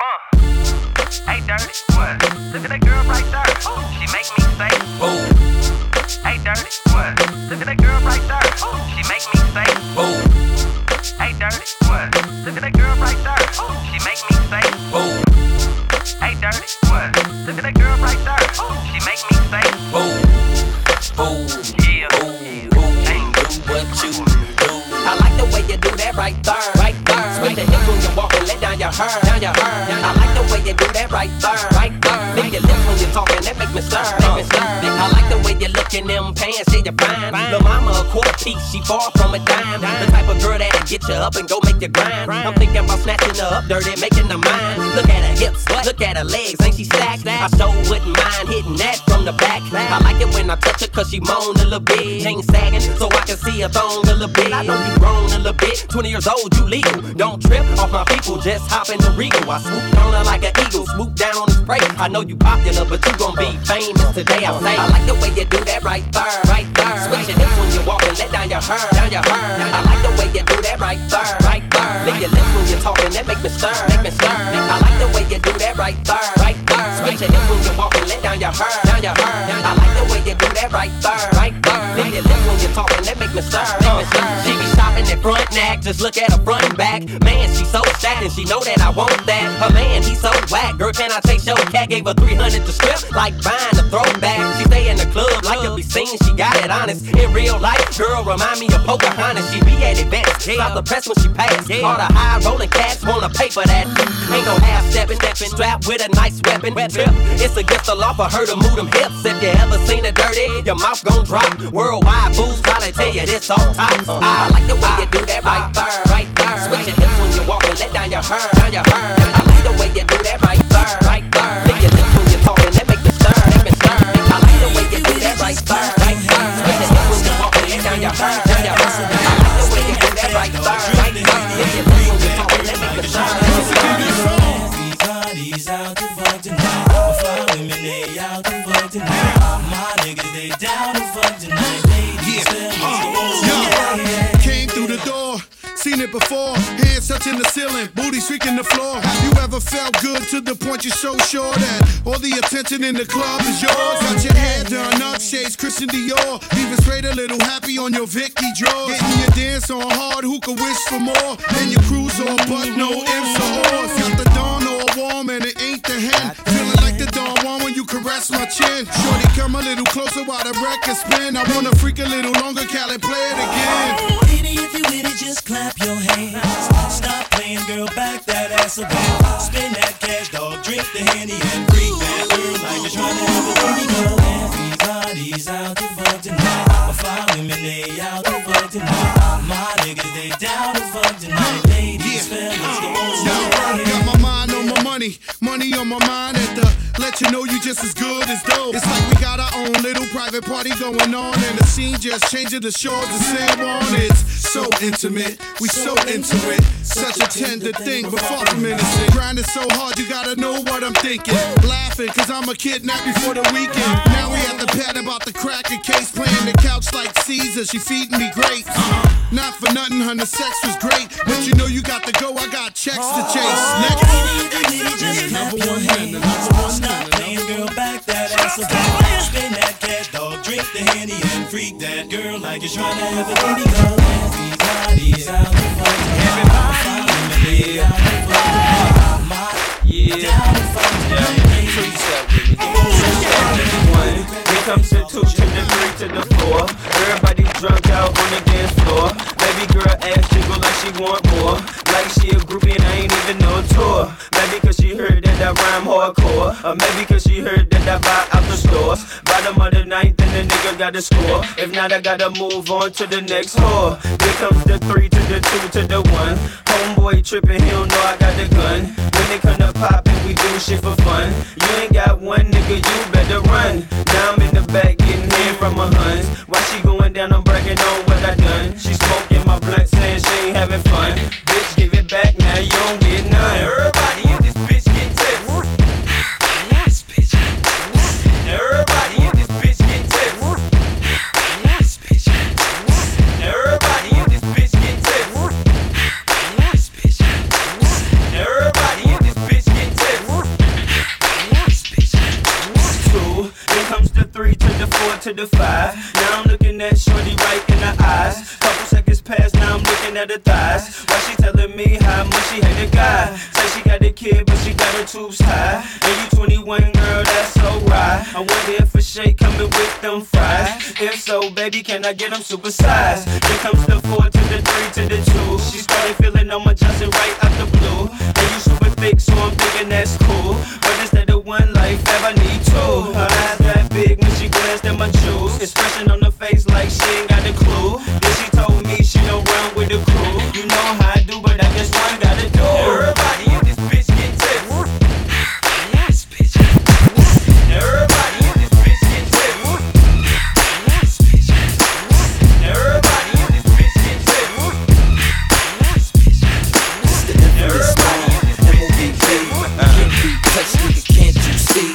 Hey, dirty, what? Look at that girl right there. She make me say, boom. Hey, dirty, what? Look at that girl right there. She make me say, boom. Hey, dirty, what? Look at that girl right there. She make me say, boom. Hey, dirty, what? Look at that girl right there. She make me say, boom. Boom. Yeah. Boom. Boom. Do what you do. I like the way you do that right there. Right there. Switch the hips when you walk and let down your hair. Down your hair. I like the way you do that right there. Right there. Lick your lips when you're talking, that make me stir. Make me stir. I like the way you look in them pants, say you're fine. Lil' mama a quarter piece, she far from a dime. The type of girl that'll get you up and go make you grind. I'm thinking about snatching her up dirty, making her mine. Look at her hips, look at her legs, ain't she stacked? I sure wouldn't mind hitting that from the back. I like it when I touch her cause she moan a little bit. Chain sagging so I can see her thong a little bit. I know you grown a little bit, 20 years old, you legal. Don't trip off my people, just hop in the Regal. I swoop on her like an eagle, swoop down on the spray. I know you popular, but you gon' be famous today, I say. I like the way you do that right there, right there. Switch your hips when you walk and let down your hair, down your hair. I like the way you do that right there, right there. Lick your lips when you're talking, that make me stir, make me stir. I like the way you do that right there, right there. Switch your hips when you walk and let down your hair, down your hair. I like the way you do that right there, right there. Lick your lips when you're talking, that make me stir, make me stir. She be shopping at front neck, just look at her front and back. Man, she so stacked and she know that I want that. Her man, he so whack. Girl, can I take your cat? Gave her 300 to strip, like buying a throwback. She stay in the club like to be seen, she got it honest. In real life, girl, remind me of Pocahontas. She be at events, stop the press when she pass. All the high rolling cats wanna pay for that. Ain't no half stepping, strapped with a nice weapon. Trip, it's against the law for her to move them hips. If you ever seen her dirty, your mouth gon' drop. Worldwide fools probably tell you this all top. I like the way you do that right there, right there. Switch your hips when you walk and let down your hair, down your hair. I like the way you do that right there, right there. Lick your lips when you're talking, that make me stir, make me stir. I like the way you do that right there, right there. Switch your hips when you walk and let down your hair, down your hair. I like the way you do that right there, right there. Lick your lips when you're talking, that make me stir, make me stir. Everybody's out to fuck tonight. My fly women, they out to fuck tonight. My niggas, they down to fuck tonight. Ladies, came through the door, seen it before. Hands touching the ceiling, booty streaking the floor. Have you ever felt good to the point you're so sure that all the attention in the club is yours? Got your hair done up, shades Christian Dior. Leaving straight a little happy on your Vicky drawers. Getting your dance on hard, who could wish for more? And your cruise on, but no ifs or ors. Got the dawn all warm and it ain't the hen. Feeling like the dawn one when you caress my chin. Shorty, come a little closer while the record spin. I wanna freak a little longer, Cali, play it again. Baby, if you with it, just clap your hands. Stop playing, girl, back that ass up. Spend that cash, dog, drink the Henny and freak that girl like you're trying to have a baby girl. Everybody's out to fuck tonight. My fly women, they out to fuck tonight. My niggas, they down to fuck tonight. Ladies, fellas, come on, got my mind on my money, money on my mind at the let you know you just as good as dope. It's like we got our own little private party going on, and the scene just changing the shores of San Juan. It's so intimate, we so into it. Such a tender thing, but far from innocent. Grinding so hard, you gotta know what I'm thinking. Laughing, cause I'm a kidnap before the weekend. Now we at the pad about the cracker case, playing the couch like Caesar, she feeding me grapes. Not for nothing, honey, sex was great, but you know you got to go, I got checks to chase. Next. Just clap your hands. Stop playing, girl, back that ass up. Spend that cash, dog, drink the Henny and freak that girl like you're trying to have a baby girl. Everybody's out to fuck tonight. Everybody out to fuck tonight. Down to fuck tonight. Here comes the 2 to the 3 to the 4. Everybody drunk out on the dance floor. Baby girl ass jiggle like she want more. Like she a groupie and I ain't even no tour. Maybe cause she heard that I rhyme hardcore. Or maybe cause she heard that I buy out the stores. Bottom of the ninth and the nigga got to score. If not, I gotta move on to the next whore. Here comes the 3 to the 2 to the 1. Homeboy trippin', he don't know I got the gun. When they come to pop and we do shit for fun. You ain't got one nigga, you better run. Now I'm in the back getting head from my huns. While she going down, I'm bragging on what I done. She smoking my blunt, saying she ain't having fun. Bitch, give it back now, you don't get none. Everybody in this bitch get tips. This bitch get tips. Everybody in this bitch get tips. This bitch get tips. Everybody in this bitch get tips. This bitch get tips. Everybody in this bitch get tips. to the 5. Now I'm looking at shorty right in the eyes. Couple seconds pass, now I'm looking at her thighs. While she telling me how much she hate a guy. Say she got a kid, but she got her tubes tied. And you 21, girl, that's so right. I wonder if a shake coming with them fries. If so, baby, can I get them supersized? Here comes the 4 to the 3 to the 2. She started feeling I'm adjusting right out the blue. And you super thick, so I'm thinking that's cool. But instead of one life, I need two. Her eyes that big when she glanced at my jewels. Expression on her face like she ain't got a clue. Then she told me she don't run with the crew. You know how I do, but I guess one gotta do. Everybody in this bitch get tips. This bitch get tips. Everybody in this bitch get tips. This bitch get tips. Everybody in this bitch get tips. This bitch get tips. It's the infamous M.O.B.B. Can't be touched, nigga, can't you see?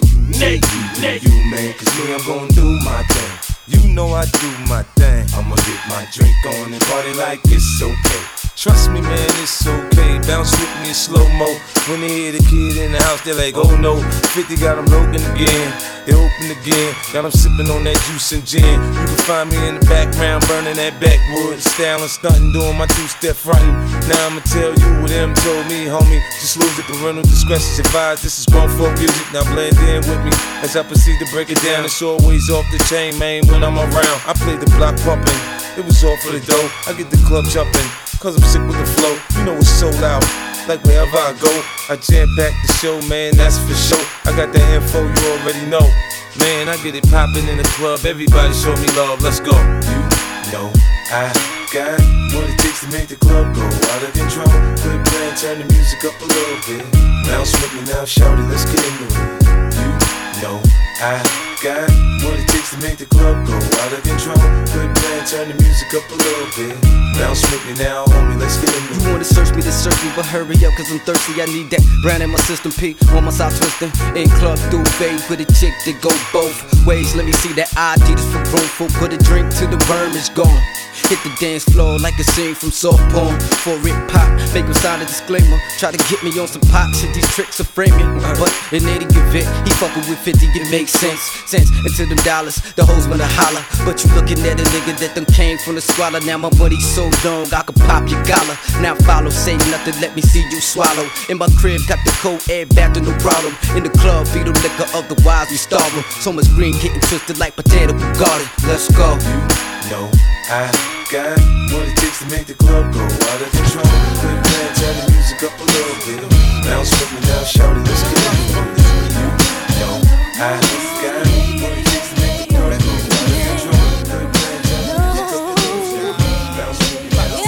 You man, cause me, I'm gon' do my thing. You know I do my thing. I'ma get my drink on and party like it's okay. Trust me, man, it's okay. Bounce with me in slow-mo. When they hear the kid in the house, they're like, oh no. 50 got them open again. They open again. Got them sipping on that juice and gin. You can find me in the background, burning that backwood. Styling, stunting, doing my two-step frontin'. Now I'ma tell you what them told me, homie. Just lose it, parental discretion advised. This is grown folk music, now blend in with me. As I proceed to break it down, it's always off the chain, man, when I'm around. I play the block pumping, it was all for the dough. I get the club jumping, cause I'm sick with the flow. You know it's so loud, like wherever I go, I jam back the show, man, that's for sure. I got the info, you already know. Man, I get it poppin' in the club, everybody show me love, let's go. You know I got what it takes to make the club go out of control. Quit playing, turn the music up a little bit. Bounce with me now, shout it, let's get into it. You know I got what it takes to make the club go out of control. Quit playing, turn the music up a little bit. Bounce with me now, homie, let's get into it. You wanna search me, but hurry up, cause I'm thirsty. I need that brand in my system, P. On my side twisting. In club through babe with a chick that go both ways. Let me see that ID, this for room for. Put a drink till the worm is gone. Hit the dance floor like a scene from soft porn. For it pop, make him sign a disclaimer. Try to get me on some pop shit, these tricks are framing. But in any event, he fucking with 50, it makes sense. Into them dollars, the hoes wanna holler. But you looking at a nigga that done came from the squalor. Now my money so long, I could pop your collar. Now follow, say nothing, let me see you swallow. In my crib, got the cold air back to no problem. In the club, feed them liquor, otherwise we starve 'em. So much green getting twisted like potato garden. Let's go. You know I got what it takes to make the club go out of control. Quit playing, turn the music up a little bit. Bounce with me now, shout it, let's get into it. You know I got what it takes to make the club go out of control. Quit playing, turn the music up a little bit. Bounce with me now,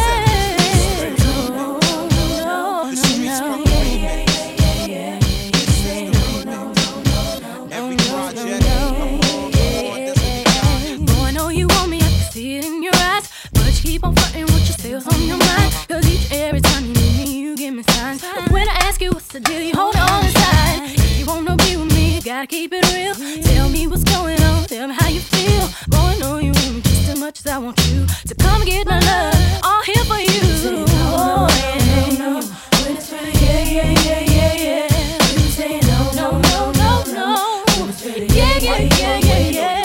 keep on flirting with your sales on your mind. Cause each and every time you meet me, you give me signs. But when I ask you what's the deal, you hold it on the side. If you wanna be with me, you gotta keep it real. Tell me what's going on, tell me how you feel. Boy, I know you want me just as much as I want you. So come get my love, all here for you. Oh, yeah, no, when it's ready, yeah. You say no, no. When it's ready, yeah.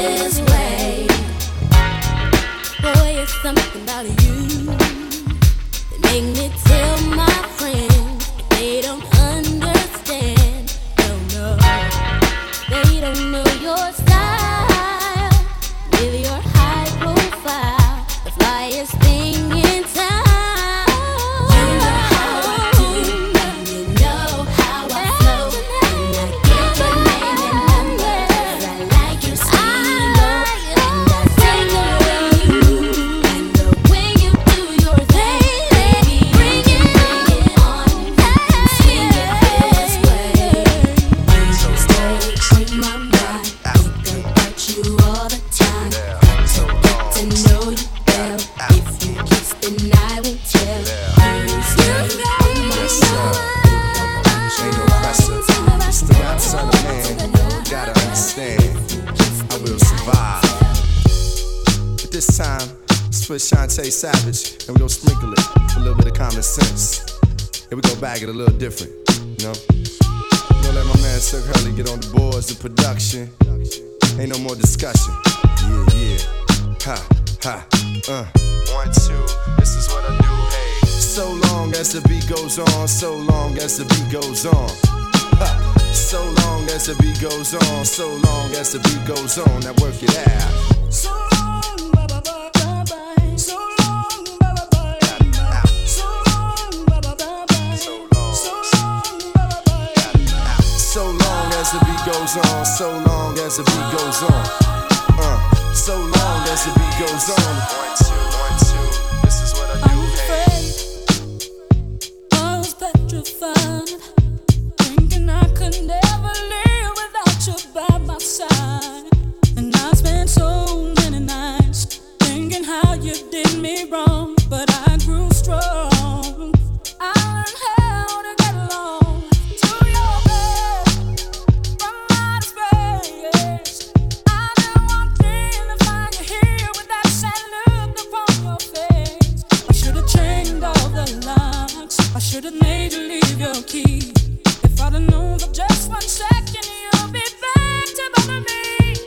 this way. Boy, it's something about you that make me tell my friends that they don't understand. No, they don't know your style with your high profile, the flyest thing in town. You know how I do, and you know how I flow, and I give your name and number, 'cause I like you slow, and I sing the way you move, and the way you do your thing, baby, bring it on, swing it this way. When you stay in my mind, think about you all the time. Got to get to know you well. If you kiss, then I will tell. You stay in my Yes, mind. Ain't no pressure. Still got son of man. Gotta understand, I will survive. But this time, it's for Shantae Savage, and we gon' sprinkle it with a little bit of common sense. And we gon' bag it a little different, you know? Gonna let my man Silk Hurley get on the boards of production. Ain't no more discussion. Yeah. Ha, ha, 1, 2, this is what I do, hey. So long as the beat goes on, so long as the beat goes on. Ha. So long as the beat goes on, so long as the beat goes on. Now work it out. So long, bye-bye, so long, bye-bye, so long, bye-bye, So long. so long, bye-bye. So long as the beat goes on, so long as the beat goes on. So long as the beat goes on. 1, 2, this is what I I do, was hey. afraid, I was petrified, thinking I could never live without you by my side. And I spent so many nights thinking how you did me wrong, but I grew strong. I learned how to get along to your bed from outer space. I didn't want to find you here with that sad look upon your face. I should have changed all the locks. I should have made you leave your key. If I'd have known for just 1 second, you'll be back to bother me.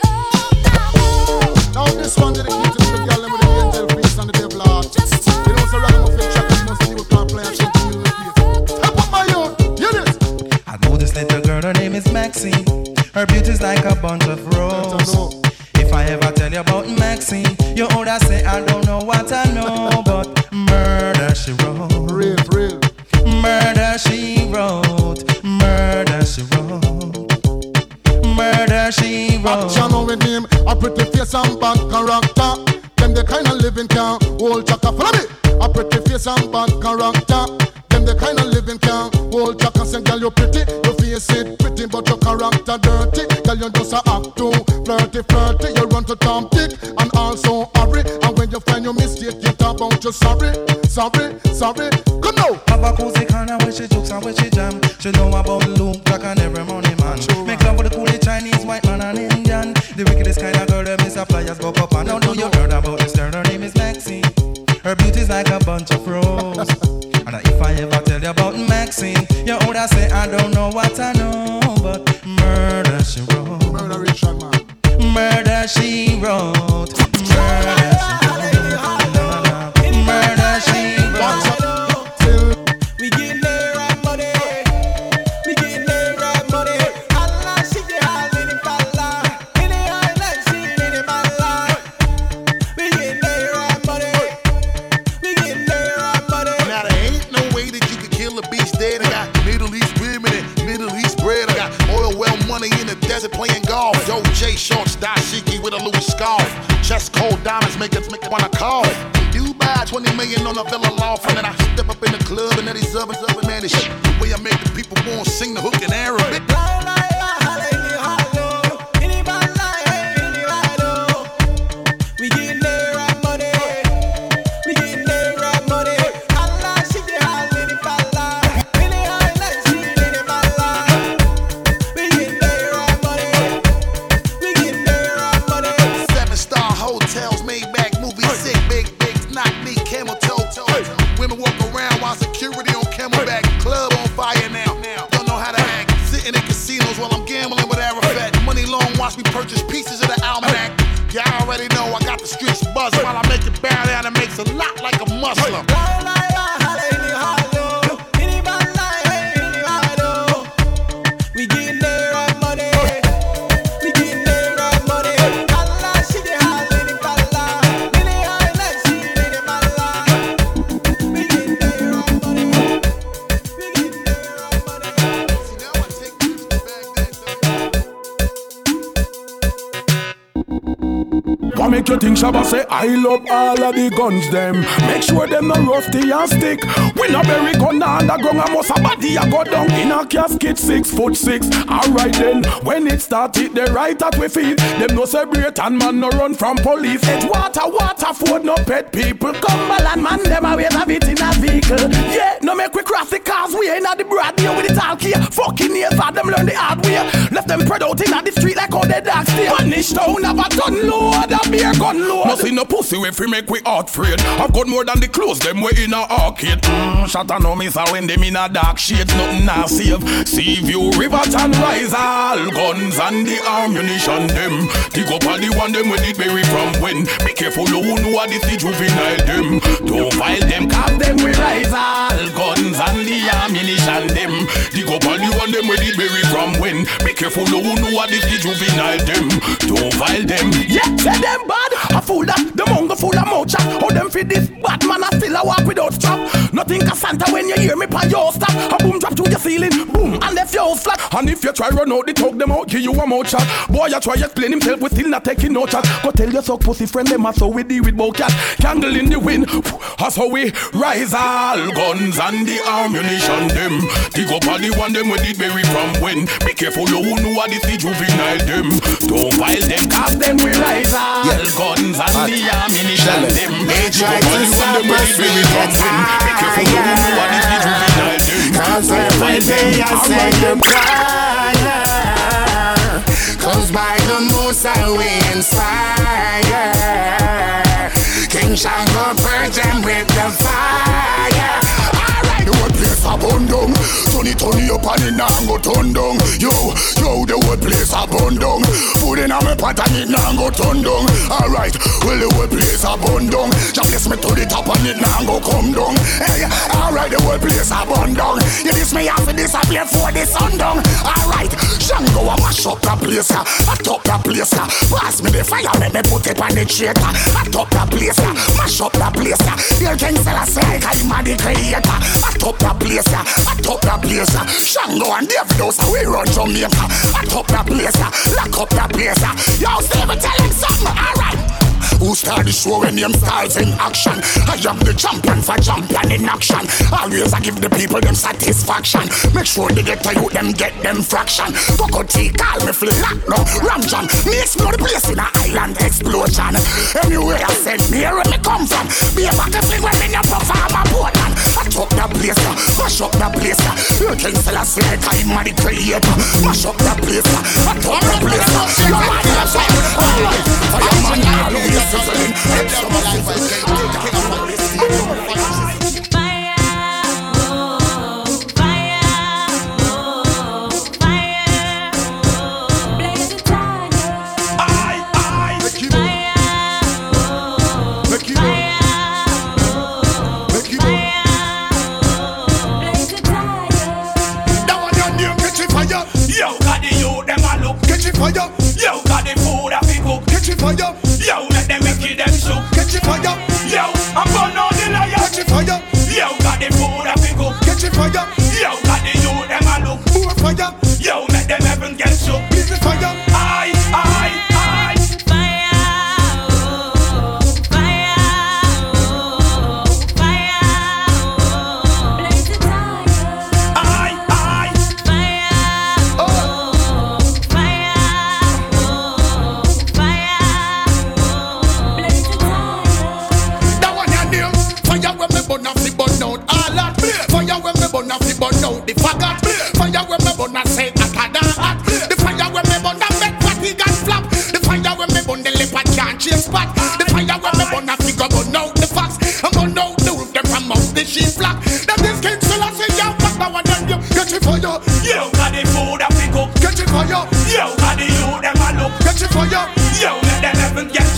Now this one dedicated to the girl with the angel face and the devil heart. Just You know, so ragamuffin track is must be can't play and something you repeat. Step up my youth, hear this. I know this little girl, her name is Maxine. Her beauty's like a bunch of roses. If I ever tell you about Maxine, you older say I don't know what I know, but murder she wrote, Real. murder she wrote, murder she wrote, murder she wrote. Action with him, a pretty face and bad character. Them the kind of living can hold chaka. Follow me. A pretty face and bad character. Them the kind of living can hold chaka. Say, girl, you pretty, your face it pretty, but your character dirty. Girl, you just a act too flirty. You run to Tom Dick and also hurry. And when you find your mistake, you talk about you sorry. Come now. Have a cozy corner where she jokes and where she jam. She know about Luke, Jack and every money man. Make love with the coolie Chinese, white man and Indian. The wickedest kind of girl, them is a flyers go up and now do you heard about this girl? Her name is Maxine. Her beauty's like a bunch of roses. And if I ever tell you about Maxine, you older say I don't know what I know, but murder she wrote, Murder Richard, man. murder she wrote, murder she wrote, murder she wrote. We getting there right money. We getting there right money. Allah, she get high in the falla. In the island, she in the mala. We getting there right money. We getting there right money. Now there ain't no way that you could kill a beast dead. I got Middle East women and Middle East bread. I got oil well money in the desert playing golf. Doja shorts, dashiki with a Louis scarf. Chest cold diamonds make us wanna call. Dubai, 20 million on a villa loft. And then I step up in the club and then these others man, this shit. The way I make the people want to sing the hook in Arabic. We getting there right money. We getting there right money. Allah, she get high in the falla. In the island, she in the mala. We getting there right money. We getting there right money. 7-star hotels, Maybach, movie sick, big, knock me, camel toe. Women walk around while security on camelback. Club on fire now. Don't know how to act. Sitting in casinos while I'm You already know I got the streets buzz while I make it bow down and makes a lot like a Muslim. What make you think Shabba say I love all of the guns them? Make sure them no rusty and stick. We no bury gun underground and most a body a go down in a casket 6'6". Alright then, when it started the right at we feet, them no celebrate and man no run from police. It's water food no pet people. Cumberland man them always have it in a vehicle. Yeah, no make we cross the cars we ain't at the broad here with the talk here. Fucking years for them learn the hard way. Left them spread out in the street like how the dogs stay. Punish town have a ton load of beer gun load. No see no pussy if we make we heart afraid. I've got more than the clothes them we in a arcade. Shut up no miss when them in a dark shades. Nothing now save. Sea View, Riverton, rise all guns and the ammunition them. Dig up all the one them with it berry from when. Be careful you know what this the juvenile them. Don't file them cause them we rise all guns and the ammunition them. Dig up all the one them with it berry from when. Be careful you know what this the juvenile them. Don't file them. Yeah, say them bad. A fool that the mongo full of mouth chat. How them fit this bad man I still a walk without strap. Nothing can Santa when you hear me pan your stop. A boom drop to your ceiling, boom, and left your flat. And if you try run out the talk them out, give you a mouth chat. Boy you try explain himself, we still not taking no chat. Go tell your suck pussy friend them as how we deal with bow cat. Candle in the wind, as how we rise all guns and the ammunition them. Dig up all the one them with it berry from when. Be careful you know what this the juvenile them. Don't file them cause them we rise all guns and the ammunition them. They try to stop us with the fire, cause every day I say goodbye. Cause by the most I we inspire. King Shango purge them with the fire. The whole place a burn down. Turn it up and it now go turn down. Yo, the whole place a burn down. Food in a me pot and it now go turn down. Alright, well the whole place a burn down. Just bless me to the top and it now go come down. Hey, alright, the whole place a burn down. You diss me after this I play for the sun down. Alright, Shango a mash up the place. I top the place. Pass me the fire, let me put it on the traitor. I top the place. Mash up the place. Your King Selassie, I'm the creator. I top the place, I top the place. Shango and Davidos, we run Jamaica. I top the place, lock up the place. Yo, Steve, tell him something, alright. Who start the show when them stars in action? I am the champion for champion in action. Always I give the people them satisfaction. Make sure they get to you, them get them fraction. Coco T, call me flip lock no Ramjan. Me explode the place in a island explosion. Anywhere I send me, where me come from. Be a back and fling when me no perform a Portland. I top the place, mash up the place. You King Selassie, I'm the creator. Mash up the place, I top the place. You're right, you're right. Alright, fireman, always. Fire, blaze the fire. Yo, got the youth, them a look. Catch it fire. Yo, got the food a pick up. Catch it fire. Yo, let them wicked them shook. Catch it fire. Yo, I'm burn all the liar. Catch it fire. Yo, got the food a pick up. Catch it fire. Yo, got the youth, them a look. More fire. Yo, let them heaven get shook. Blaze the fire. Aye. The faggot, fire when me burn a say a tada hot. The fire when me burn a make party got flap. The fire when me burn the leopard can't chase spot. The fire when me burn a figure burn out the fox. And burn out the roof them from out the sheep flock. Them this King Selassie young fuck now and then you catch it fire. Yo, got the food a pick up. Catch it fire. Yo, got the youth them a look. Catch it fire. Yo, let them heaven get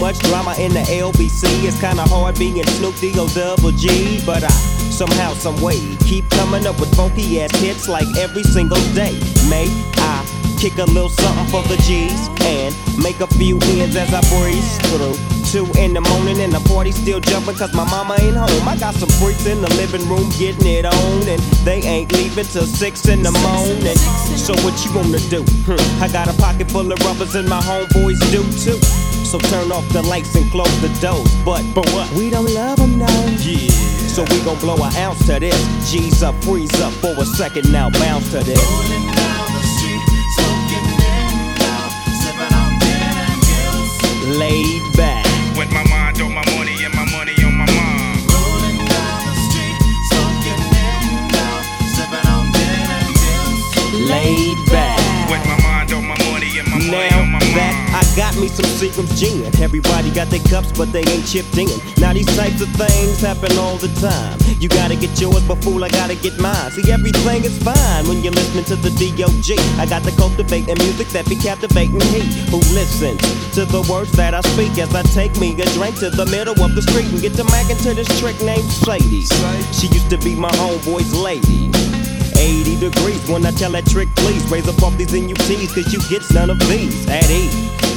much drama in the LBC. It's kinda hard being Snoop D-O double G, but I somehow, some way keep coming up with funky ass hits like every single day. May I kick a little something for the G's and make a few ends as I breeze through 2 in the morning and the party still jumping cause my mama ain't home. I got some freaks in the living room getting it on and they ain't leaving till 6 in the morning. So what you wanna do? I got a pocket full of rubbers and my homeboys do too. So turn off the lights and close the doors. But what? We don't love them now. Yeah. So we gon' blow an ounce to this. G's up, freeze up for a second now, bounce to this. Rolling down the street, smoking in now, sipping on gin and gills. Laid back. With my mind on my money and my money on my mind. Rolling down the street, smoking in now, sipping on gin and gills. Laid back. With my mind on my money and my money Now on my mind. that I got me some Seagram's gin. Everybody got their cups, but they ain't chipped in. Now these types of things happen all the time. You gotta get yours, but fool, I gotta get mine. See, everything is fine when you're listening to the D.O.G. I got the cultivating music that be captivating he who listens to the words that I speak as I take me a drink to the middle of the street and get to mackin' to this trick named Sadie. She used to be my homeboy's lady. 80 degrees when I tell that trick, please raise up off these NUTs, cause you get none of these at ease.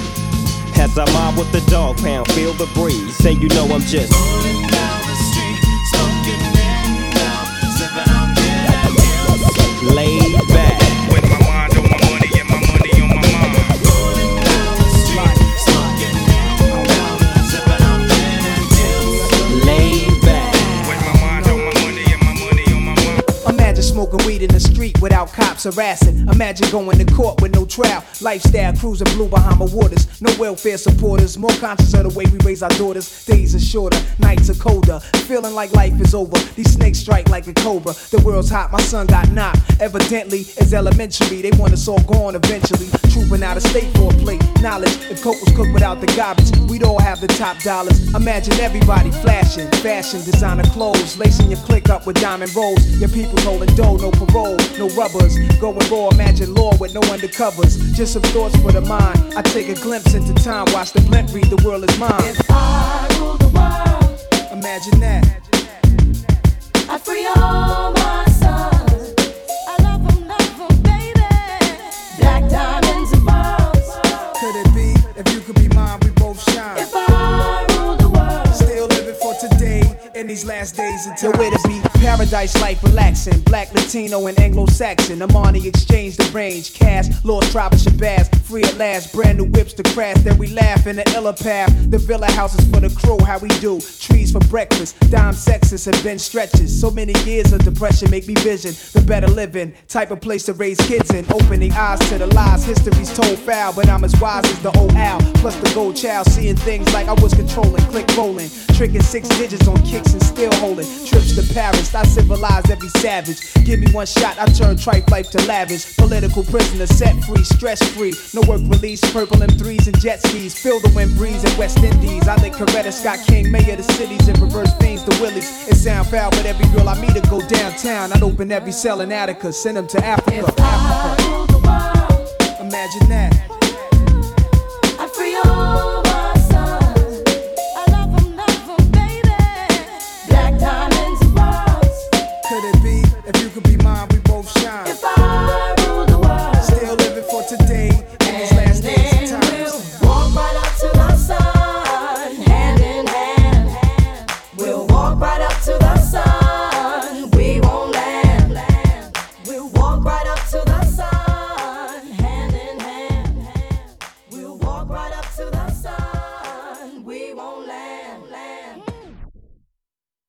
As I mob with the dog pound, feel the breeze, say you know I'm just rolling down the street, smoking in now, sipping on gin and gills. laid back. With my mind on my money and my money on my mind. Rolling down the street, smoking in now, sipping on gin and gills. Laid back. With my mind on my money and my money on my mind. Imagine smoking weed in the street without cops harassing. Imagine going to court with no trial. Lifestyle cruising blue Bahama waters. No welfare supporters. More conscious of the way we raise our daughters. Days are shorter, nights are colder. Feeling like life is over. These snakes strike like a cobra. The world's hot, my son got knocked. Evidently, it's elementary. They want us all gone eventually. Trooping out of state for a plate. Knowledge, if coke was cooked without the garbage, we'd all have the top dollars. Imagine everybody flashing. Fashion, designer clothes. Lacing your click up with diamond rolls. Your people holding dough, no parole, no rubbers. Going raw, imagine law with no undercovers. Just some thoughts for the mind. I take a glimpse into time, watch the blimp read, the world is mine. If I rule the world, Imagine that. I free all my sons. I love them, baby. Black diamonds and pearls. Could it be? If you could be mine, we both shine. If I rule the world, Still living for today in these last days and time. Nowhere to be. Paradise life relaxing. Black, Latino, and Anglo-Saxon. Amani exchange the range. Cash, Lord Tribe of Shabazz. Free at last. Brand new whips to crash. Then we laugh in the illa path. The villa houses for the crew. How we do. Trees for breakfast. Dime sexes and bench stretches. So many years of depression make me vision the better living. Type of place to raise kids in. Opening eyes to the lies. History's told foul. But I'm as wise as the old owl. Plus the gold child. Seeing things like I was controlling. Click rolling. Tricking 6 digits on kicks and still holding. Trips to Paris. I civilized every savage. Give me one shot, I turn tripe life to lavish. Political prisoner, set free, stress free. No work release, purple M3s and jet skis. Feel the wind breeze in West Indies. I think Coretta Scott King, mayor of the cities, and reverse fiends the willies. It sound foul, but every girl I meet to go downtown. I'd open every cell in Attica, send them to Africa. if I rule the world, Imagine that.